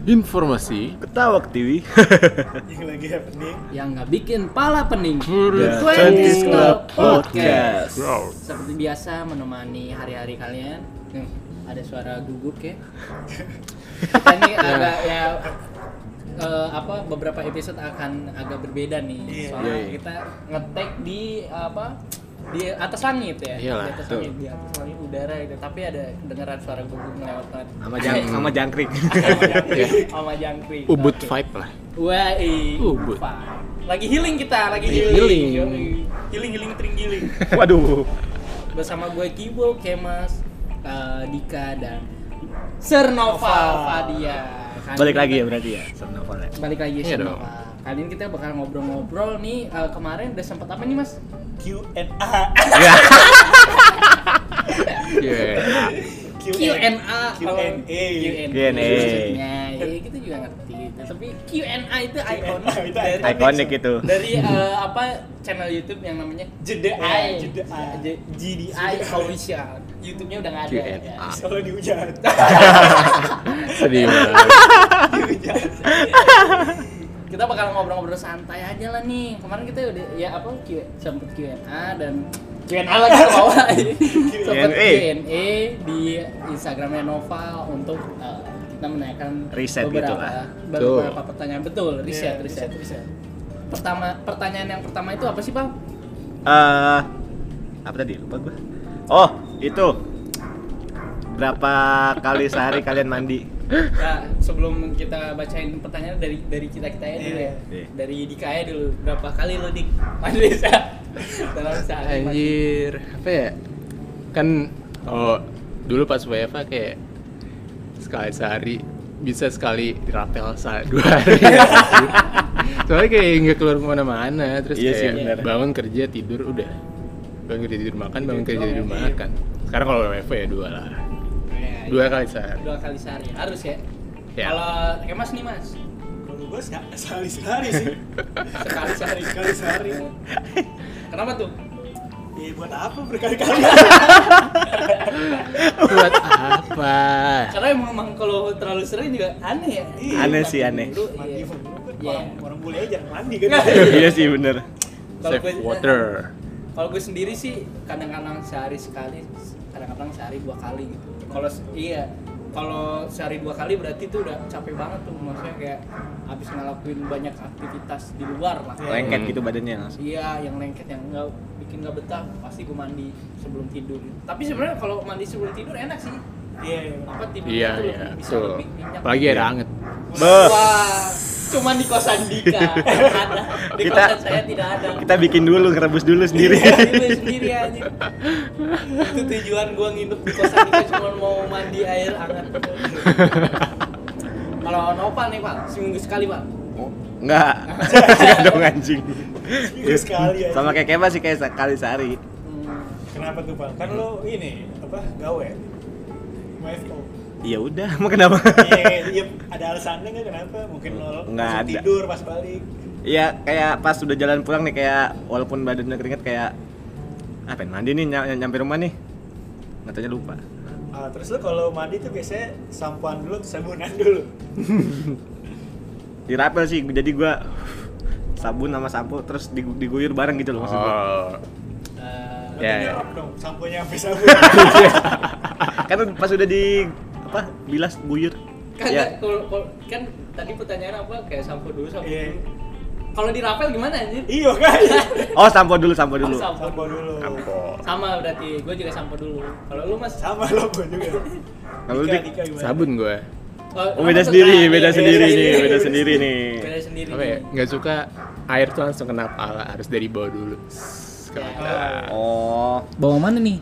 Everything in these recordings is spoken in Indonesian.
Informasi Ketawa TV. Yang lagi happening. Yang nggak bikin pala pening. The 20s Club Podcast. Podcast. Seperti biasa menemani hari-hari kalian. Ada suara gugup ya. Kita ini agak ya beberapa episode akan agak berbeda nih. Soalnya kita nge-take di di atas langit ya. Iyalah, di atas langit, di atas langit udara gitu. Tapi ada kedengaran suara gugup melewat Sama jangkrik. sama jangkrik. Ubud Oke. vibe lah. Wah, Ubud. lagi healing kita, lagi Healing. healing tringgiling. Waduh. Bersama gue Kibo, Kemas, Dika dan Sir Noval Fadia. Balik lagi ya berarti ya. Novel ya. Balik lagi Iya Sir dong. Noval. Kali ini kita bakal ngobrol-ngobrol nih. Kemarin udah sempat apa nih Mas? Q&A. Yeah. Q&A. Q&A. Maksudnya, ya kita juga ngerti. Nah, tapi Q&A itu ikonik Itu dari Ikonik itu. dari channel YouTube yang namanya JDI. GDI Official. YouTube-nya udah nggak ada. Q&A. Ya. Selalu dihujat. Sedih banget. Kita bakal ngobrol-ngobrol santai aja lah nih. Kemarin kita udah sempet Q&A dan Q&A lagi ke bawah. Sempet Q&A di Instagramnya Noval untuk kita menanyakan Riset gitu lah. beberapa pertanyaan. Betul, riset. riset. Pertanyaan yang pertama itu apa sih, Bang? Apa tadi? Lupa gua. Oh, itu. Berapa kali sehari kalian mandi? Ya, sebelum kita bacain pertanyaan dari kita ya dulu ya. Iya. Dari Dika ya dulu. Berapa kali lo Dik mandi dalam sehari? Anjir, apa ya? Kan dulu pas WFA kayak sekali sehari bisa sekali dirapel 2 hari. Soalnya kayak nggak keluar kemana-mana, terus Iya sih, kayak bener. bangun kerja tidur udah. Bangun kerja tidur makan, bangun kerja tidur makan. Sekarang kalau WFA ya 2 lah. Ya, 2 kali sehari. 2 kali sehari harus ya. Ya. Kalau Mas nih Mas, Kalau gue sekali sih. sekali sehari. Kenapa tuh? Ya buat apa berkali-kali? Buat apa? Karena emang kalau terlalu sering juga aneh ya. Aneh sih, aneh. Mandi Iya. iya. Orang bule aja jarang mandi kan. Iya sih bener. Kalau Save gue- water. Kalau gue sendiri sih kadang-kadang sehari sekali, kadang-kadang sehari 2 kali gitu. Kalau sehari 2 kali berarti tuh udah capek banget tuh, maksudnya kayak habis ngelakuin banyak aktivitas di luar lah. Lengket gitu badannya langsung. Iya, yang lengket yang bikin nggak betah, pasti gue mandi sebelum tidur. Tapi sebenarnya kalau mandi sebelum tidur enak sih. Iya. Apa tidur Iya, itu iya. bisa Tuh. lebih nyenyak. Apalagi air hangat. Beuh. Wah, cuman di kosan Dika yang ada. Di Kita- kosan saya tidak ada. Kita bikin dulu, ngerebus dulu sendiri. Sendiri aja. Itu tujuan gua nginep di kosan Dika cuma mau mandi air hangat. Kalau Nopal nih Pak, seminggu sekali Pak. Enggak. Enggak dong anjing. Seminggu sekali aja. Sama kayak Kema sih kayak sekali sehari. Kenapa tuh, Pak? Kan lo ini gawe. WFO. Iya udah, emang kenapa? Iya, ada alasannya nggak kenapa? Mungkin lo Nggak langsung ada. tidur pas balik. Iya, kayak pas udah jalan pulang nih kayak walaupun badannya keringet kayak pengen mandi nih nyampe rumah nih. Ngatanya lupa. Terus lo kalau mandi tuh biasanya sampoan dulu, sabunan dulu. Dirapel sih, jadi gua sabun sama sampo terus diguyur bareng gitu loh maksud gua. Berarti Ya, ya. nyerap dong, samponya sampai sabun. Kan pas udah bilas guyur. Kan Ya. kan tadi pertanyaan apa kayak sampo dulu sampo Iya. dulu. Kalau di rapel gimana anjir? Iya kan? Oh, sampo dulu. Sampo Sampo dulu. Sampo. Sama berarti, gue juga sampo dulu. Kalau lu Mas? Sama lo gue juga. Kalau Dika, Dik, Dika gimana? Sabun gue. oh beda sendiri nih, beda sendiri nih. Beda sendiri. Apa ya? Nggak suka air tuh langsung kena pala, harus dari bawah dulu. Ya. Oh, Bawa mana nih?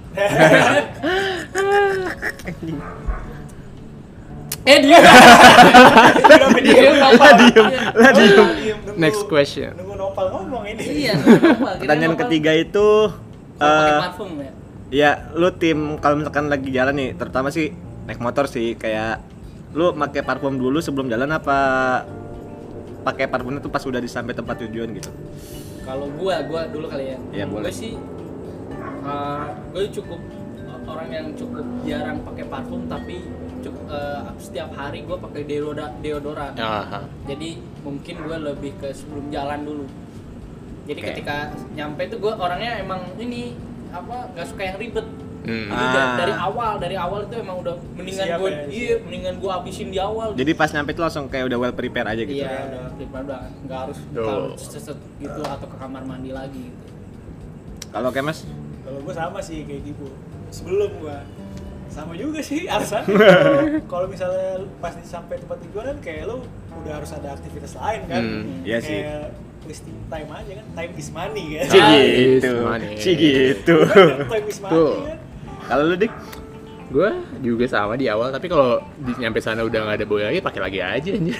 Dia. Kenapa diem? diem. Next question. Nunggu Nopal ngomong ini. Iya. Nopal. Pertanyaan ketiga itu Pakai parfum ya. ya lu tim kalau misalkan lagi jalan nih, terutama sih naik motor sih kayak lu pakai parfum dulu sebelum jalan apa pakai parfumnya tuh pas udah sampai tempat tujuan gitu? Kalau gua dulu kali ya. Iya, boleh. Gue sih gue cukup orang yang cukup jarang pakai parfum tapi setiap hari gue pakai deodoran. Aha. Jadi mungkin gue lebih ke sebelum jalan dulu. Jadi Oke. ketika nyampe tuh gue orangnya emang ini nggak suka yang ribet. Jadi Ah. dari awal itu emang udah mendingan Siap gue ya, mendingan gue habisin di awal. Jadi pas nyampe itu langsung kayak udah well prepare aja gitu. Iya, udah nggak harus Duh. kalau seset gitu atau ke kamar mandi lagi gitu. Kalau kayak Mas, Kalau gue sama sih kayak gitu. Sebelum gue sama juga sih alasan. Kalau misalnya pas sampai tempat tujuan kan kayak lu udah harus ada aktivitas lain kan. iya sih. Kayak wasting time aja kan. Time is money kan. Si Ah, gitu. is money. Si gitu. Time is money Tuh. kan. Kalau lu Dik? Gue juga sama di awal, tapi kalau nyampe sana udah nggak ada boy lagi, pakai lagi aja anjir.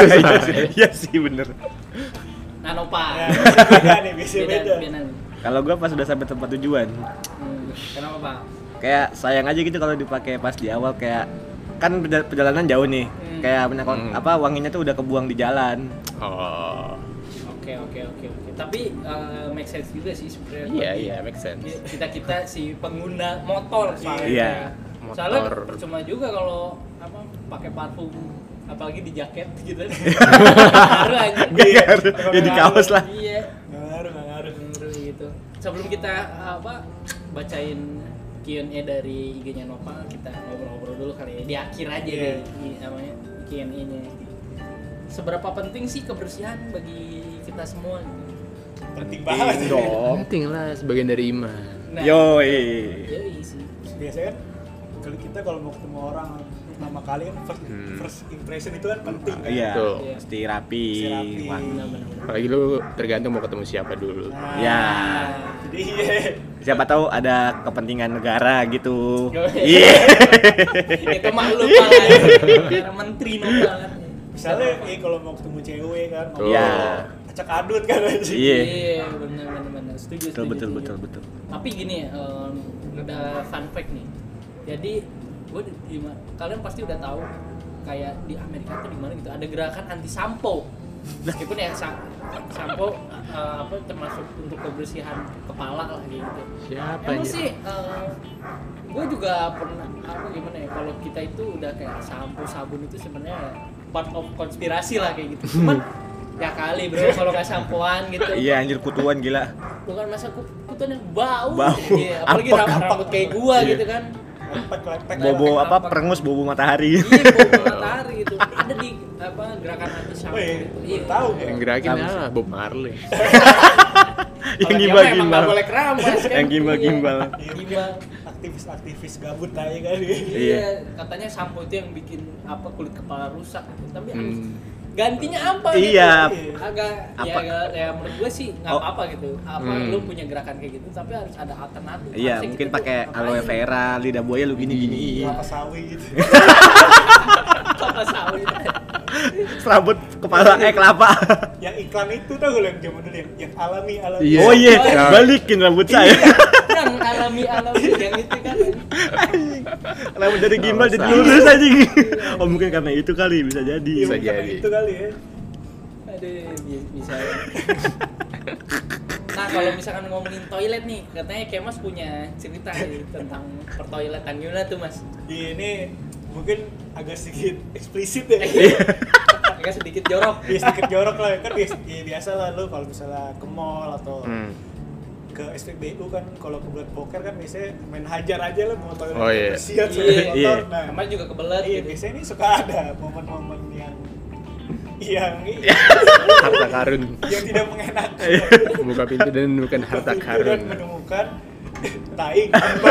Iya sih bener. Nah, Nova. Ya, beda nih, beda. Beda. Kalau gua pas udah sampai tempat tujuan, Kenapa, Pak? kayak sayang aja gitu kalau dipakai pas di awal, kayak kan perjalanan jauh nih. Kayak banyak wanginya tuh udah kebuang di jalan. Oh. Oke. Tapi make sense juga sih sebenarnya. Iya, make sense. Kita si pengguna motor soalnya. Iya. Soalnya Motor. percuma juga kalau pakai parfum apalagi di jaket gitu. Ngaruh aja. Ya di kaos lah. Iya. Nggak ngaruh. Ngaruh gitu. Sebelum kita bacain Q&A dari IG-nya Nova, kita ngobrol-ngobrol dulu kali ya. Di akhir aja Iya. deh namanya Q&A-nya. Seberapa penting sih kebersihan bagi kita semua? Penting banget. Dong. Penting lah, sebagian dari iman. Nah, Yoi. yoi sih. Biasanya kan kalau kita kalau mau ketemu orang pertama kali kan first impression itu kan penting kan. Iya, Tuh. mesti rapi. Mesti rapi. wangi. Benar-benar. Apalagi lu tergantung mau ketemu siapa dulu. Nah, Ya. Jadi iya. Siapa tahu ada kepentingan negara gitu. Yoi. Iya. Itu maklum malah ya. Menteri Nova kan. Misalnya kalau mau ketemu cewek kan, Tuh. Iya. acak adut kan aja. Iya. Iya, benar. Setuju. Betul. Tapi gini ya, ada fun fact nih. Jadi kalian pasti udah tahu kayak di Amerika tuh di mana gitu ada gerakan anti sampo. Meskipun ya sampo termasuk untuk kebersihan kepala lah gitu. Siapa Emang aja? sih gue juga pernah gimana ya, kalau kita itu udah kayak sampo sabun itu sebenarnya part of konspirasi lah kayak gitu. Cuman ya kali bro kalau nggak sampoan gitu. Iya, anjir kutuan gila. Bukan masa kutuan yang bau. Bau. Iya, apalagi rambut kayak gua Iya. gitu kan. Lepek-lepek. Bobo Lepek. perengus bobo matahari. Iya, bau matahari gitu. Ada di gerakan anti sampo Oh iya, gitu. baru tahu ya. Yang gerakin Sama sih. Bob Marley. Yang Kalau gimbal dia mah emang nggak boleh gimbal. keramas kan. Yang gimbal-gimbal. Iya, Gimbal. aktivis gabut aja kan. Iya, katanya sampo itu yang bikin kulit kepala rusak gitu. Tapi gantinya apa Iya. gitu? Agak Apa? ya menurut gue sih nggak Oh. apa-apa gitu. Lu punya gerakan kayak gitu tapi harus ada alternatif. Iya, Harusnya mungkin kita tuh pakai ngapain? aloe vera, lidah buaya lu gini-gini. Kelapa sawit. Kelapa sawit. Serabut kepala kelapa. Yang iklan itu tau gue yang zaman dulu yang alami. Iya. Oh iya, Ya. balikin rambut saya. Yang alami yang itu kan. Rambut dari gimbal jadi Salah. lurus aja. Oh mungkin karena itu kali bisa jadi. Iya, Bisa bukan jadi. itu kali ya. Aduh, bisa. Nah, kalau misalkan ngomongin toilet nih, katanya Kemas punya cerita nih tentang pertoiletan gimana tuh, Mas? Iya, ini mungkin agak sedikit eksplisit ya. Agak sedikit jorok. Iya, sedikit jorok lah. Kan biasa lah lu kalau misalnya ke mall atau ke SPBU kan kalau kebelet poker kan biasanya main hajar aja lah mau toilet Oh, iya. bersihan Iya, sampai kotor. iya. Nah, Kemarin juga kebelet iya gitu. biasanya ini suka ada momen-momen yang Harta karun. yang tidak mengenakan. Buka pintu dan menemukan harta Dan karun. menemukan tai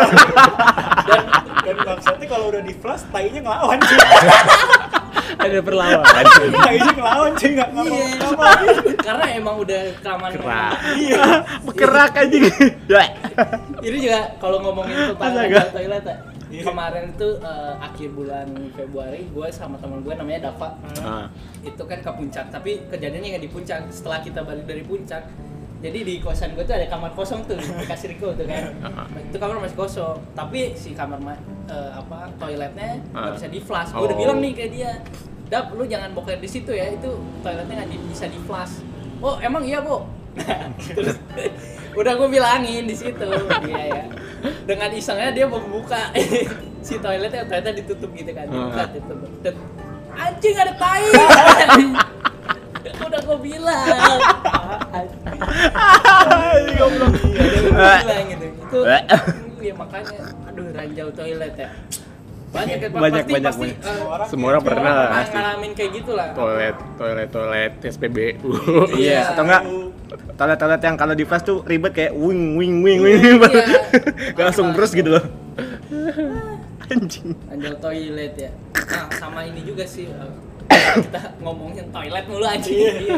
dan maksudnya kalau udah di flash tainya ngelawan sih. Ada perlawanan. Tainya ngelawan sih nggak mau Iya. nggak mau. Karena emang udah kelamaan. Kerak. Iya. Bekerak aja. Ini juga kalau ngomongin tentang Astaga. toilet ya. Iya. Kemarin itu akhir bulan Februari gue sama teman gue namanya Dava. Itu kan ke puncak, tapi kejadiannya nggak di puncak. Setelah kita balik dari puncak, jadi di kosan gue tuh ada kamar kosong tuh, dikasih Riko tuh kan. Itu kamar masih kosong, tapi si kamar toiletnya nggak bisa di flush. Gue udah Oh. bilang nih kayak dia, Dap, lu jangan boker di situ ya, itu toiletnya nggak bisa di flush. Oh emang iya, Bo? Terus Udah gue bilangin di situ. Iya ya. Dengan isengnya dia membuka si toiletnya, ternyata ditutup gitu kan. Buka ditutup. Dan anjing ada tai. Udah gue bilang. Goblok. Gue bilang gitu. Itu ya makanya aduh ranjau toilet ya. Banyak kan Banyak. pasti Semua orang pernah lah. pasti ngalamin kayak gitulah. Toilet SPBU. Iya, atau enggak toilet yang kalau di flash tuh ribet kayak wing. Langsung terus gitu loh. Anjing. Ranjau toilet ya. Nah, sama ini juga sih kita ngomongin toilet mulu anjing.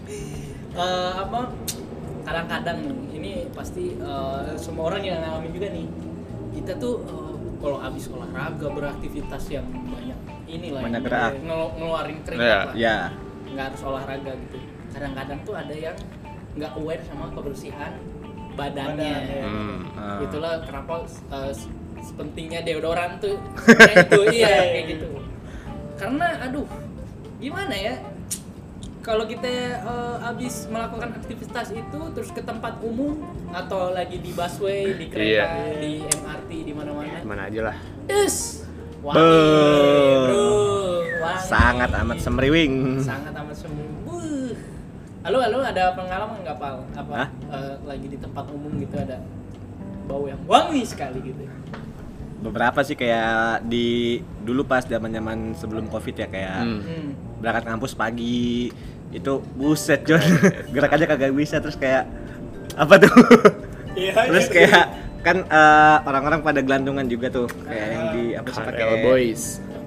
Apa kadang-kadang nih, ini pasti semua orang yang ngalamin juga nih. Kita tuh kalau habis olahraga beraktivitas yang Banyak gerak. ngeluarin keringat lah. Ya. Nggak harus olahraga gitu. Kadang-kadang tuh ada yang nggak aware sama kebersihan badannya. Itulah kenapa sepentingnya deodoran tuh itu kayak gitu. Karena aduh gimana ya, kalau kita habis melakukan aktivitas itu terus ke tempat umum atau lagi di busway, di kereta, di MRT, di mana-mana. Mana aja lah. Wangi, bro. Wangi. Sangat amat semriwing. Sangat amat sembuh. Halo, ada pengalaman nggak, Pal? Apa lagi di tempat umum gitu ada bau yang wangi sekali gitu? Beberapa sih kayak di dulu pas zaman-zaman sebelum Covid ya, kayak berangkat kampus pagi itu buset John. Gerak aja kagak bisa, terus kayak apa tuh? Terus kayak kan orang-orang pada gelantungan juga tuh, kayak yang di apa sih pakai Boys.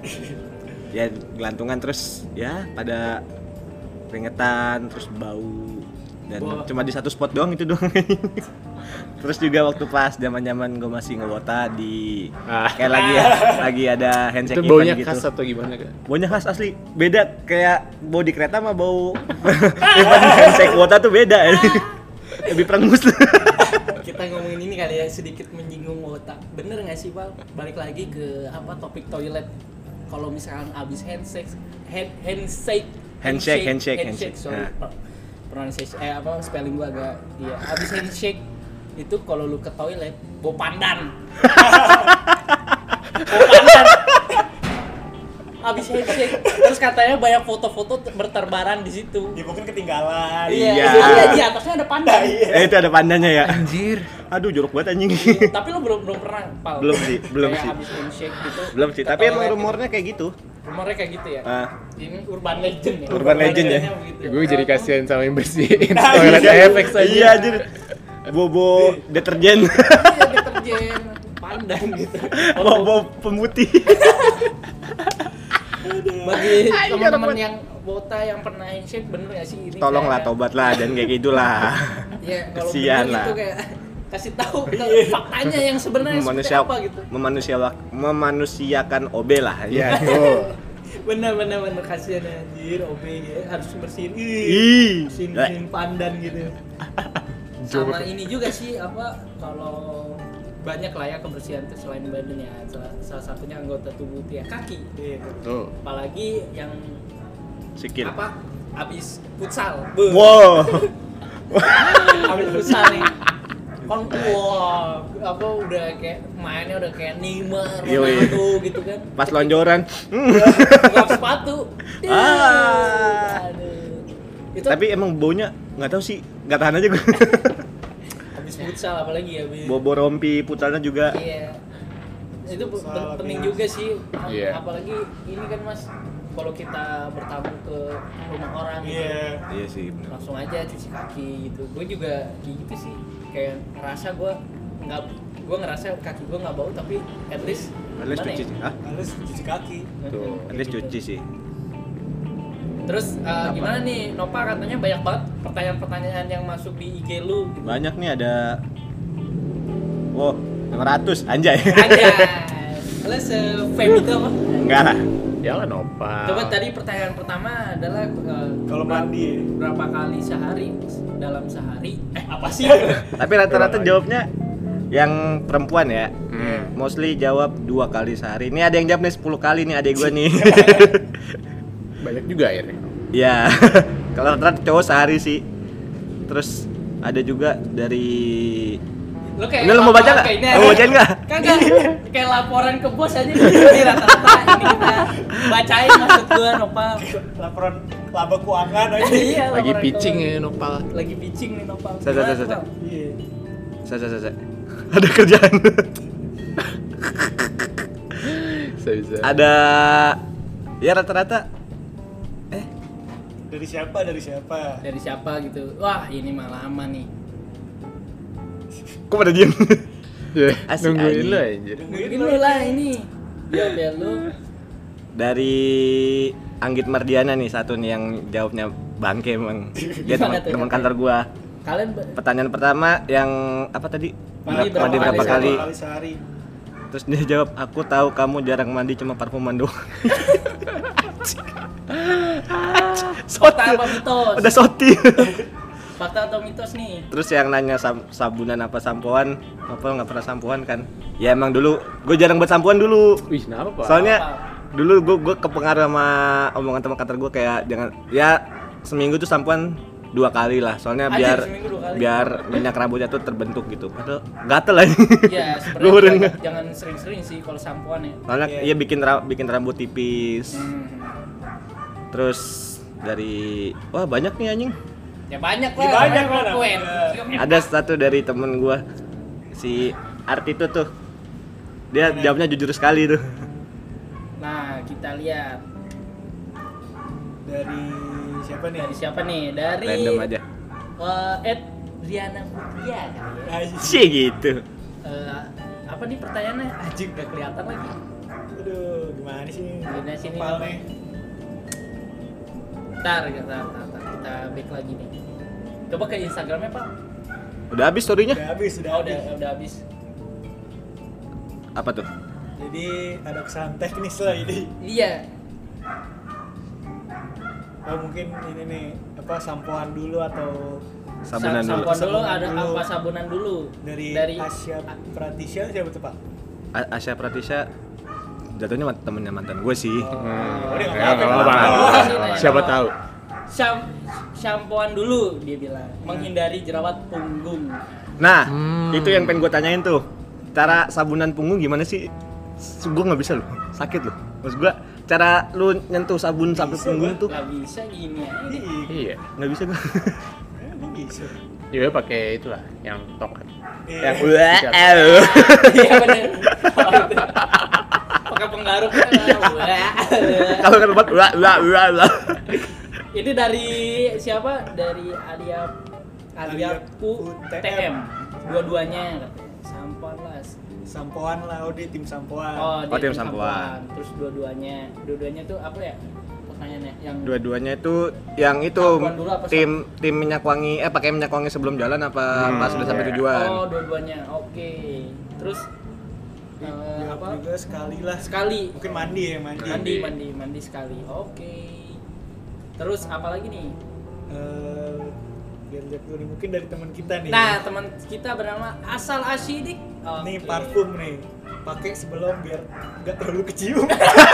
Ya gelantungan terus ya pada keringetan terus bau dan cuma di satu spot doang itu doang. Terus juga waktu pas zaman-zaman gue masih ngewota di kayak lagi ada handshake Itu event baunya gitu. khas atau gimana Kak? Baunya khas asli, beda kayak bau di kereta sama bau event handshake wota tuh beda. Lebih perengus. Kita ngomongin ini kali ya, sedikit menyinggung wota. Bener nggak sih, Pak? Balik lagi ke apa topik toilet. Kalau misalkan abis handshake. Sorry, pronunciation apa spelling gua agak abis handshake itu kalau lu ke toilet bau pandan. Abis handshake terus katanya banyak foto-foto berterbaran di situ. Ya mungkin ketinggalan. Iya, di atasnya ada pandan. Itu ada pandannya ya. Anjir. Aduh jorok banget anjing. Tapi lu belum pernah, Pal? Belum sih. Kayak abis handshake gitu. Belum sih, ke tapi emang toilet rumornya kayak gitu. Rumornya kayak gitu ya. Ini urban legend ya. Urban legend ya. Begitu. Gue jadi kasihan sama yang bersihin toilet efek saja. Iya anjir. Bobo deterjen. Iya, deterjen pandan gitu. Bobo pemutih. Bagi teman-teman yang wota yang pernah handshake, bener gak sih ini? Tolonglah tobat lah dan kayak gitulah. Iya, kalau Kesian bener lah. gitu kayak kasih tahu faktanya yang sebenarnya seperti apa gitu. Memanusiakan OB lah. Iya, tuh. Bener kasihan anjir, OB ya harus bersihin. Ih. Bersihin pandan gitu. Sama ini juga sih apa kalau banyak lah ya kebersihan tuh selain badan ya, salah satunya anggota tubuh ya kaki. Tuh. Apalagi yang Sikil. apa abis futsal. Wow. Abis futsal nih. Kan apa udah kayak mainnya udah kayak Neymar, Ronaldo gitu kan. Pas lonjoran. Buka sepatu. Aduh. Itu Tapi emang baunya nggak tahu sih, nggak tahan aja gue. habis futsal apalagi ya. Bobo rompi putsalnya juga. Iya. Itu penting juga sih. Iya. Apalagi ini kan Mas, kalau kita bertamu ke rumah orang gitu. Iya sih benar. Langsung aja cuci kaki gitu. Gue juga kayak gitu sih. Kayak ngerasa gue ngerasa kaki gue nggak bau, tapi at least Cuci sih. Hah? Harus cuci kaki. Tuh. At least cuci sih. Terus gimana nih Nova, katanya banyak banget pertanyaan-pertanyaan yang masuk di IG lu gitu. Banyak nih ada. Wow, 500 anjay. Aja. Lo se-fame itu apa? Enggak lah. Jangan Nopal. Coba tadi pertanyaan pertama adalah Kalau mandi. berapa kali sehari dalam sehari? Apa sih? Tapi rata-rata jawabnya yang perempuan ya. Hmm. Mostly jawab 2 kali sehari. Ini ada yang jawab nih 10 kali nih adek gue nih. Banyak juga akhirnya. Ya. Kalau rata-rata cowok sehari sih. Terus ada juga dari Lu kayak ini lo mau baca nggak? kayak ini Mau bacain nggak? Kagak. Kayak laporan ke bos aja di rata-rata ini kita bacain maksud gua Nopal. Laporan laba keuangan aja. Iya, Lagi laporan pitching ke- ya Nopal. Lagi pitching nih Nopal. Sa. Iya. Saya. Ada kerjaan. Bisa. Ada ya rata-rata Dari siapa? Dari siapa gitu. Wah, ini mah lama nih. kok pada diem? Ya, Asik nungguin anjing. lu anjir. Mungkin lu lah ini. Biar lu Dari Anggit Mardiana nih satu nih yang jawabnya bangke emang. Dia Gimana tuh? teman kantor gua. kalian Pertanyaan pertama yang apa tadi? Mandi Mandi berapa kali? Kali sehari. Terus dia jawab, aku tahu kamu jarang mandi cuma parfuman doang. fakta apa mitos? Udah soti. Fakta atau mitos nih? Terus yang nanya sabunan apa sampoan, apa nggak pernah sampoan kan? Ya emang dulu, gue jarang buat sampoan dulu. Wih, kenapa, Pak? Soalnya dulu gue kepengaruh sama omongan teman kantor gue kayak jangan ya seminggu tuh sampoan 2 kali lah. Soalnya Anjir, biar seminggu 2 kali. biar minyak rambutnya tuh terbentuk gitu. Padahal gatel aja. Iya, Gua udah sebenarnya nggak. jangan sering-sering sih kalau sampoan ya. Soalnya Iya. iya bikin rambut tipis. Terus dari wah banyak nih anjing. Ya banyak Ya lah. banyak lah, Kuen. Ada satu dari temen gua si Arti tuh. Dia jawabnya jujur sekali tuh. Nah, kita lihat Dari siapa nih? dari siapa nih? Dari Random aja. Riana Putria kali ya. Cie gitu. Apa nih pertanyaannya? Anjing gak kelihatan lagi. Aduh, gimana sih? Gimana sih ini? Nopal nih? Ntar, kita back lagi nih. Coba ke Instagramnya Pak. Udah habis storynya? Udah habis, udah Oh, habis. udah habis. Apa tuh? Jadi ada kesalahan teknis lah ini. Iya. Oh mungkin ini nih apa sampoan dulu atau Sabunan dulu. Sampoan dulu, Sabunan ada dulu. apa sabunan dulu? dari Asia Pratisya siapa tuh Pak? Asya Pratisya jatuhnya temennya mantan gue sih. Oh, dia Ya, nggak nggak apa-apa. apa-apa. Siapa tahu? Sampoan dulu dia bilang, menghindari jerawat punggung. Nah, itu yang pengen gue tanyain tuh. Cara sabunan punggung gimana sih? Gue nggak bisa loh, sakit loh. Maksud gue, cara lu nyentuh sabun sampai Bisa, punggung gua. tuh Gak bisa gini aja. Iya. nggak bisa gue. Emang bisa. Ya pakai itulah yang tongkat. Iya. Yang Iya bener. Pakai penggaruk. Kalau kan buat ulah. Ini dari siapa? Dari Alia TM. Dua-duanya katanya. Sampoan lah. Sampoan lah, oh dia tim sampoan. Oh, dia tim tim sampoan. Terus dua-duanya tuh apa ya? Pertanyaannya yang Dua-duanya itu yang itu Sampoan dulu apa tim minyak wangi pakai minyak wangi sebelum jalan apa pas udah sampai iya. tujuan. Oh, dua-duanya. Oke. Terus Jawab apa? juga sekali lah. Sekali. Mungkin mandi ya, mandi. Mandi sekali. Oke. Terus apa lagi nih? Biar lihat dulu nih, mungkin dari teman kita nih. Nah, teman kita bernama Asal Asyidik. Nih Oke. parfum nih. Pakai sebelum biar nggak terlalu kecium.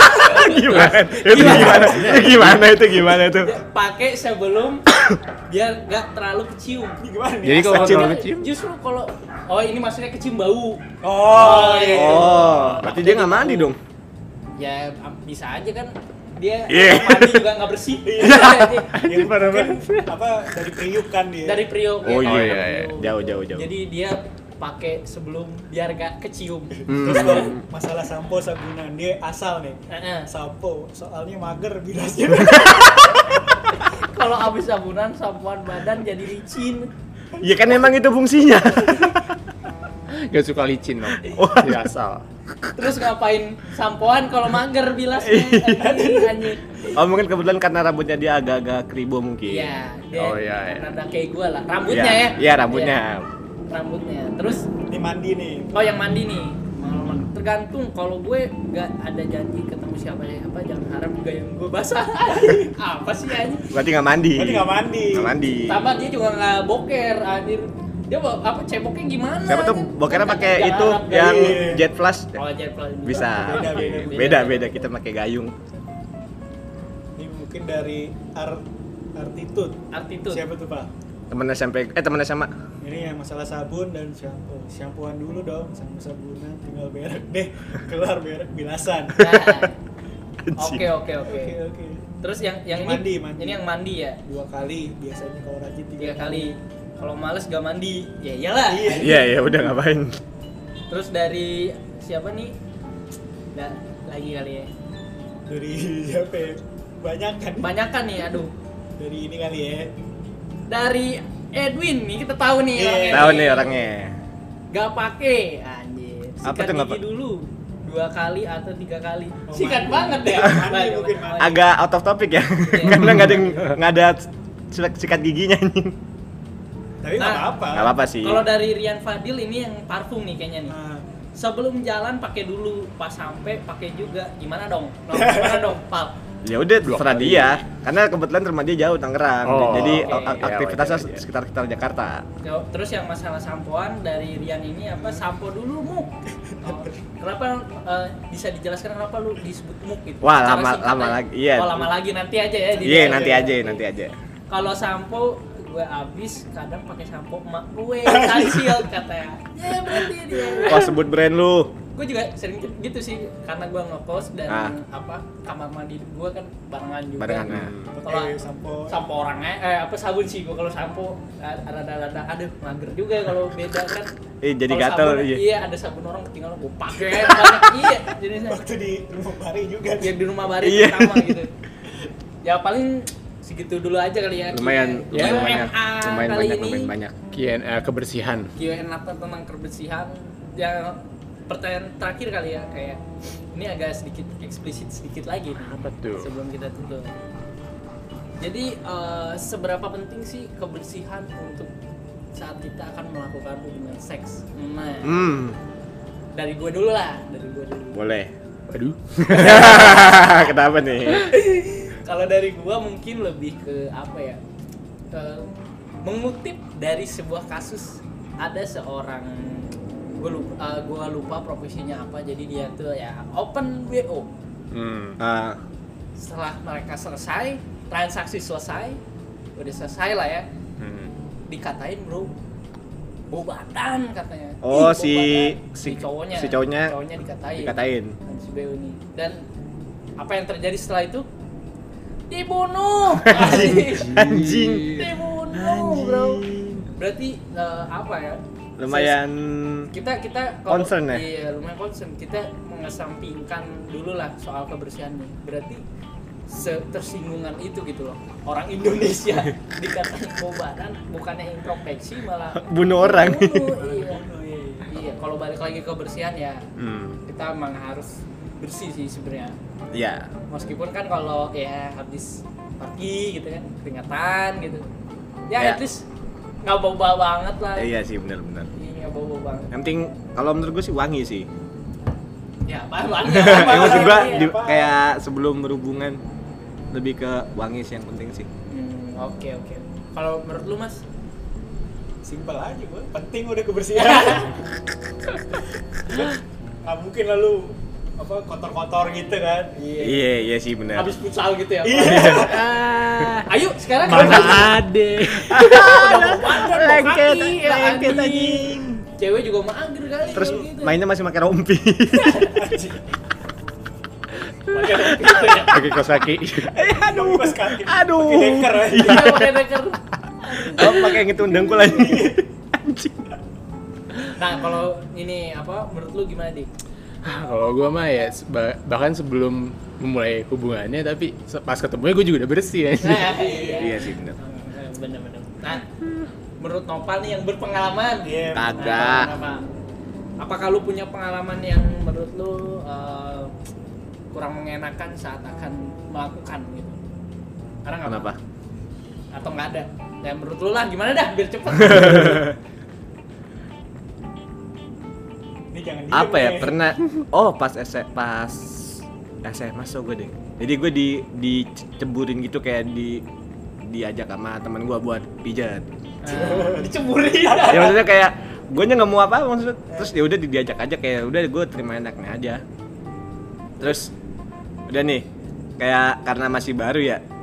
Gimana itu? Pakai sebelum biar nggak terlalu kecium. Ini gimana nih? Jadi kalau Asal- terlalu kecium? Justru kalau ini maksudnya kecium bau. Oh, iya. Oh, berarti dia nggak mandi dong. Ya bisa aja kan dia Iya. mandi juga nggak bersih. Yang mungkin apa dari priuk kan dia. Dari Priok. Oh, ya, iya, dari iya. Priok. Jauh. Jadi dia pakai sebelum biar gak kecium. Terus kalau masalah sampo sabunan dia asal nih. Heeh. Sampo soalnya mager bilasnya. Kalau habis sabunan, sampoan badan jadi licin. Ya kan emang itu fungsinya. Gak suka licin dong. Ya asal. Terus ngapain sampoan kalau mager bilasnya? Anjir. Oh mungkin kebetulan karena rambutnya dia agak-agak kribo mungkin. Iya, dia Oh, iya, iya. rada kayak gua lah. Rambutnya Iya, ya. iya, rambutnya. Iya, rambutnya. Terus Ini mandi nih. oh yang mandi nih. Tergantung kalau gue nggak ada janji ketemu siapa jangan harap gayung gue basah. Apa sih anjir? Berarti nggak mandi. Berarti nggak mandi. Nggak mandi. Tambah dia juga nggak boker anjir. Dia apa ceboknya gimana? Siapa tuh anjir? bokernya pakai Jangan itu harap yang gayung. jet flash? Oh, jet flash. Bisa. Beda. Beda kita pakai gayung. Ini mungkin dari Artitude. Artitude. Siapa tuh Pak? Temen SMP, temen SMA. Ini yang masalah sabun dan shampoo. Shampooan dulu dong, sama sabunan tinggal berak deh. Kelar berak bilasan. Oke. Oke. Terus yang Mandi. ini yang mandi ya? 2 kali, biasanya kalau rajin 3 kali. Kalau males gak mandi, ya iyalah. Iya, udah ngapain. Terus dari siapa nih? Lagi kali ya. Dari siapa ya? Banyakan nih, aduh. Dari ini kali ya. Dari Edwin nih, kita tahu nih Iya. orangnya. Tahu nih orangnya. Gak pakai, anjir. Apa Sikat tuh nggak gigi dulu 2 kali atau 3 kali. Oh, Sikat mandi. banget deh. Mandi mungkin, mandi. Agak out of topic ya. Karena nggak ada sikat giginya anjing. Tapi nggak Nah, apa-apa. Nggak apa-apa sih. Kalau dari Rian Fadil ini yang parfum nih kayaknya nih. Nah, Sebelum jalan pakai dulu, pas sampai pakai juga. Gimana dong? Gimana dong, Pal? Ya udah 2 terserah kali. dia. Karena kebetulan rumah dia jauh Tangerang. Oh, Jadi oke. aktivitasnya Ya, wajar. sekitar Jakarta. Terus yang masalah sampoan dari Rian ini apa? Sampo dulu muk. Oh, kenapa bisa dijelaskan kenapa lu disebut muk gitu? Wah, Secara lama singkat aja. lagi. Iya. Oh, lama lagi nanti aja ya. Iya, nanti aja. Kalau sampo gue abis kadang pakai sampo emak gue Sunsilk katanya. Ya berarti dia. Wah, sebut brand lu. Gue juga sering gitu sih karena gue ngekos dan Ah. kamar mandi gue kan barengan juga. Barengan, ya. Kalau pakai sampo. sampo orangnya sabun sih gue kalau sampo ada aduh mager juga kalau beda kan. Jadi Kalau gatel, sabun, iya. Iya, ada sabun orang ketinggalan gue pakai banyak. Iya, jenisnya. Waktu di rumah Bari juga. Biar di rumah Bari Iya. pertama gitu. Ya paling segitu dulu aja kali ya. Lumayan Q&A kali ini. banyak. Q&A kebersihan. Q&A tentang kebersihan. Yang pertanyaan terakhir kali ya kayak ini agak sedikit eksplisit sedikit lagi nih, Apa tuh? sebelum kita tutup. Jadi seberapa penting sih kebersihan untuk saat kita akan melakukan hubungan seks? Nah, dari gue dulu lah, Boleh. Waduh. Kenapa nih? Kalau dari gue mungkin lebih ke apa ya? Mengutip dari sebuah kasus ada seorang gue lupa profesinya apa, jadi dia tuh ya open WO. Setelah mereka selesai transaksi udah selesai lah ya, dikatain bro bau badan katanya. Oh, Ih, bau si badan. si cowoknya dikatain sama si BO ini. Dan apa yang terjadi setelah itu? Dibunuh. Anjing. Dibunuh bro. Berarti apa ya? Lumayan kita kalau- concern ya? Iya, lumayan concern. Kita mengesampingkan dulu lah soal kebersihannya. Berarti tersinggungan itu gitu loh. Orang Indonesia dikatain bau badan, bukannya introspeksi malah bunuh orang. bunuh, iya. Kalau balik lagi ke kebersihan ya, kita emang harus bersih sih sebenarnya. Iya. Meskipun kan kalau ya habis pergi gitu kan, keringatan gitu. Ya, Ya. at least nggak bau-bau banget lah. Iya sih, benar-benar. Iya, nggak bau-bau banget. Yang penting kalau menurut gue sih wangi sih. Ya, apaan? Yang maksud gue Iya, kayak sebelum berhubungan lebih ke wangi sih yang penting sih. Oke. Kalau menurut lu Mas? Simpel aja gue, penting udah kebersihan. Nggak mungkin lalu apa kotor-kotor gitu kan. Iya sih benar. Habis futsal gitu ya. Iya. Ayo sekarang Mana ada? Lengket lengket anjing. Cewek juga mager kali. Terus kalau gitu. mainnya masih pakai rompi. Pakai rompi gitu ya. Pakai kaos kaki. Aduh, pas kaki. Aduh. Pakai deker aja. Iya, pakai deker. Oh, pakai yang itu dengkul aja. Anjing. Nah, kalau ini apa menurut lu gimana, Dik? Kalau gue mah ya bahkan sebelum memulai hubungannya, tapi pas ketemunya gue juga udah bersih ya. Iya sih benar. Bener-bener. Nah, menurut Nopal nih yang berpengalaman. Iya. Kagak. Apakah lu punya pengalaman yang menurut lu kurang mengenakan saat akan melakukan gitu? Karena nggak Kenapa? Atau nggak ada? Ya menurut lu lah gimana dah biar cepet. Ini jangan diem Apa ya? nih. Pernah pas SMA so gue deh. Jadi gue diceburin gitu kayak diajak sama teman gue buat pijat. Diceburin. Ya maksudnya kayak gue nya nggak mau apa maksudnya. Terus ya udah diajak aja kayak udah gue terima enaknya aja. Terus udah nih kayak karena masih baru ya.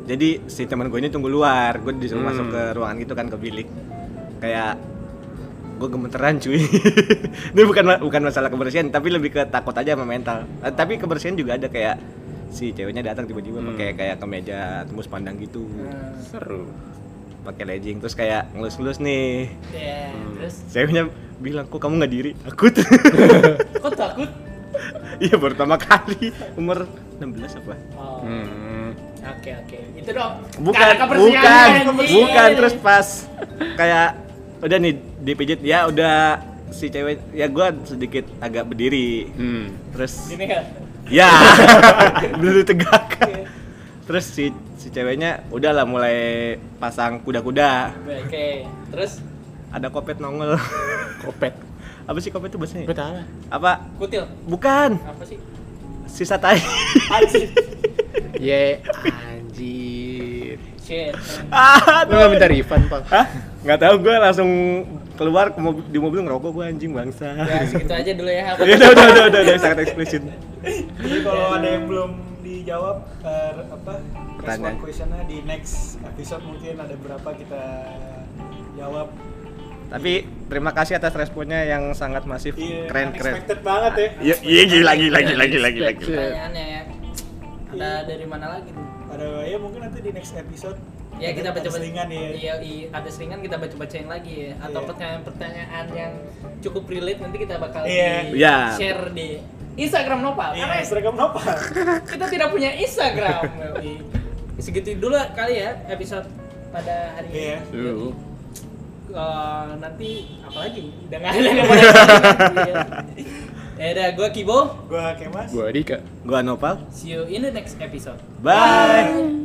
Jadi si teman gue ini tunggu luar, gue disuruh masuk ke ruangan gitu kan, ke bilik. Kayak gue gemeteran cuy. Ini bukan masalah kebersihan, tapi lebih ke takut aja sama mental. Tapi kebersihan juga ada, kayak si ceweknya datang tiba-tiba pakai kayak kemeja tembus pandang gitu. Seru. Pakai legging terus kayak ngelus-ngelus nih. Terus Ceweknya bilang, "Kok kamu nggak diri?" Takut. kok takut? Iya, baru pertama kali umur 16 apa? Oh. Oke. Itu dong. Bukan. Terus pas kayak udah nih dipijit ya, udah si cewek ya, gua sedikit agak berdiri. Terus Gini kan. ya berdiri tegak. Terus si ceweknya udahlah mulai pasang kuda-kuda. Oke. Terus Ada kopet nongol. Kopet. Apa sih kopet itu bahasanya? Kopet apa? Apa? kutil. Bukan. Apa sih? Sisa tai. Anjir. Ye, anjir. Shit. Lu nggak minta refund, Pak? Hah? Nggak tahu, gue langsung keluar ke di mobil ngerokok, gue anjing bangsa. Ya segitu aja dulu ya. Ya udah sangat eksplisit. Jadi kalau ada yang belum dijawab Pertanyaan. questionnya di next episode mungkin ada berapa kita jawab. Tapi terima kasih atas responnya yang sangat masif, Iya, keren. unexpected banget ya. Iya gila. Pertanyaannya ya. Ada dari mana lagi tuh? Ada ya mungkin nanti di next episode. Ya kita baca selingan ya. Iya, ada selingan kita bacain lagi ya. Atau Iya. pertanyaan-pertanyaan yang cukup relate nanti kita bakal Iya. Iya. share di Instagram Nopal. Iya, Karena Instagram Nopal. kita tidak punya Instagram. Segitu dulu kali ya episode pada hari ini. Iya. Lu. Nanti apa lagi? Udah nggak ada yang mau nanya. Ya udah, gue Kibo. Gua Kemas. Gua Dika. Gua Nopal. See you in the next episode. Bye.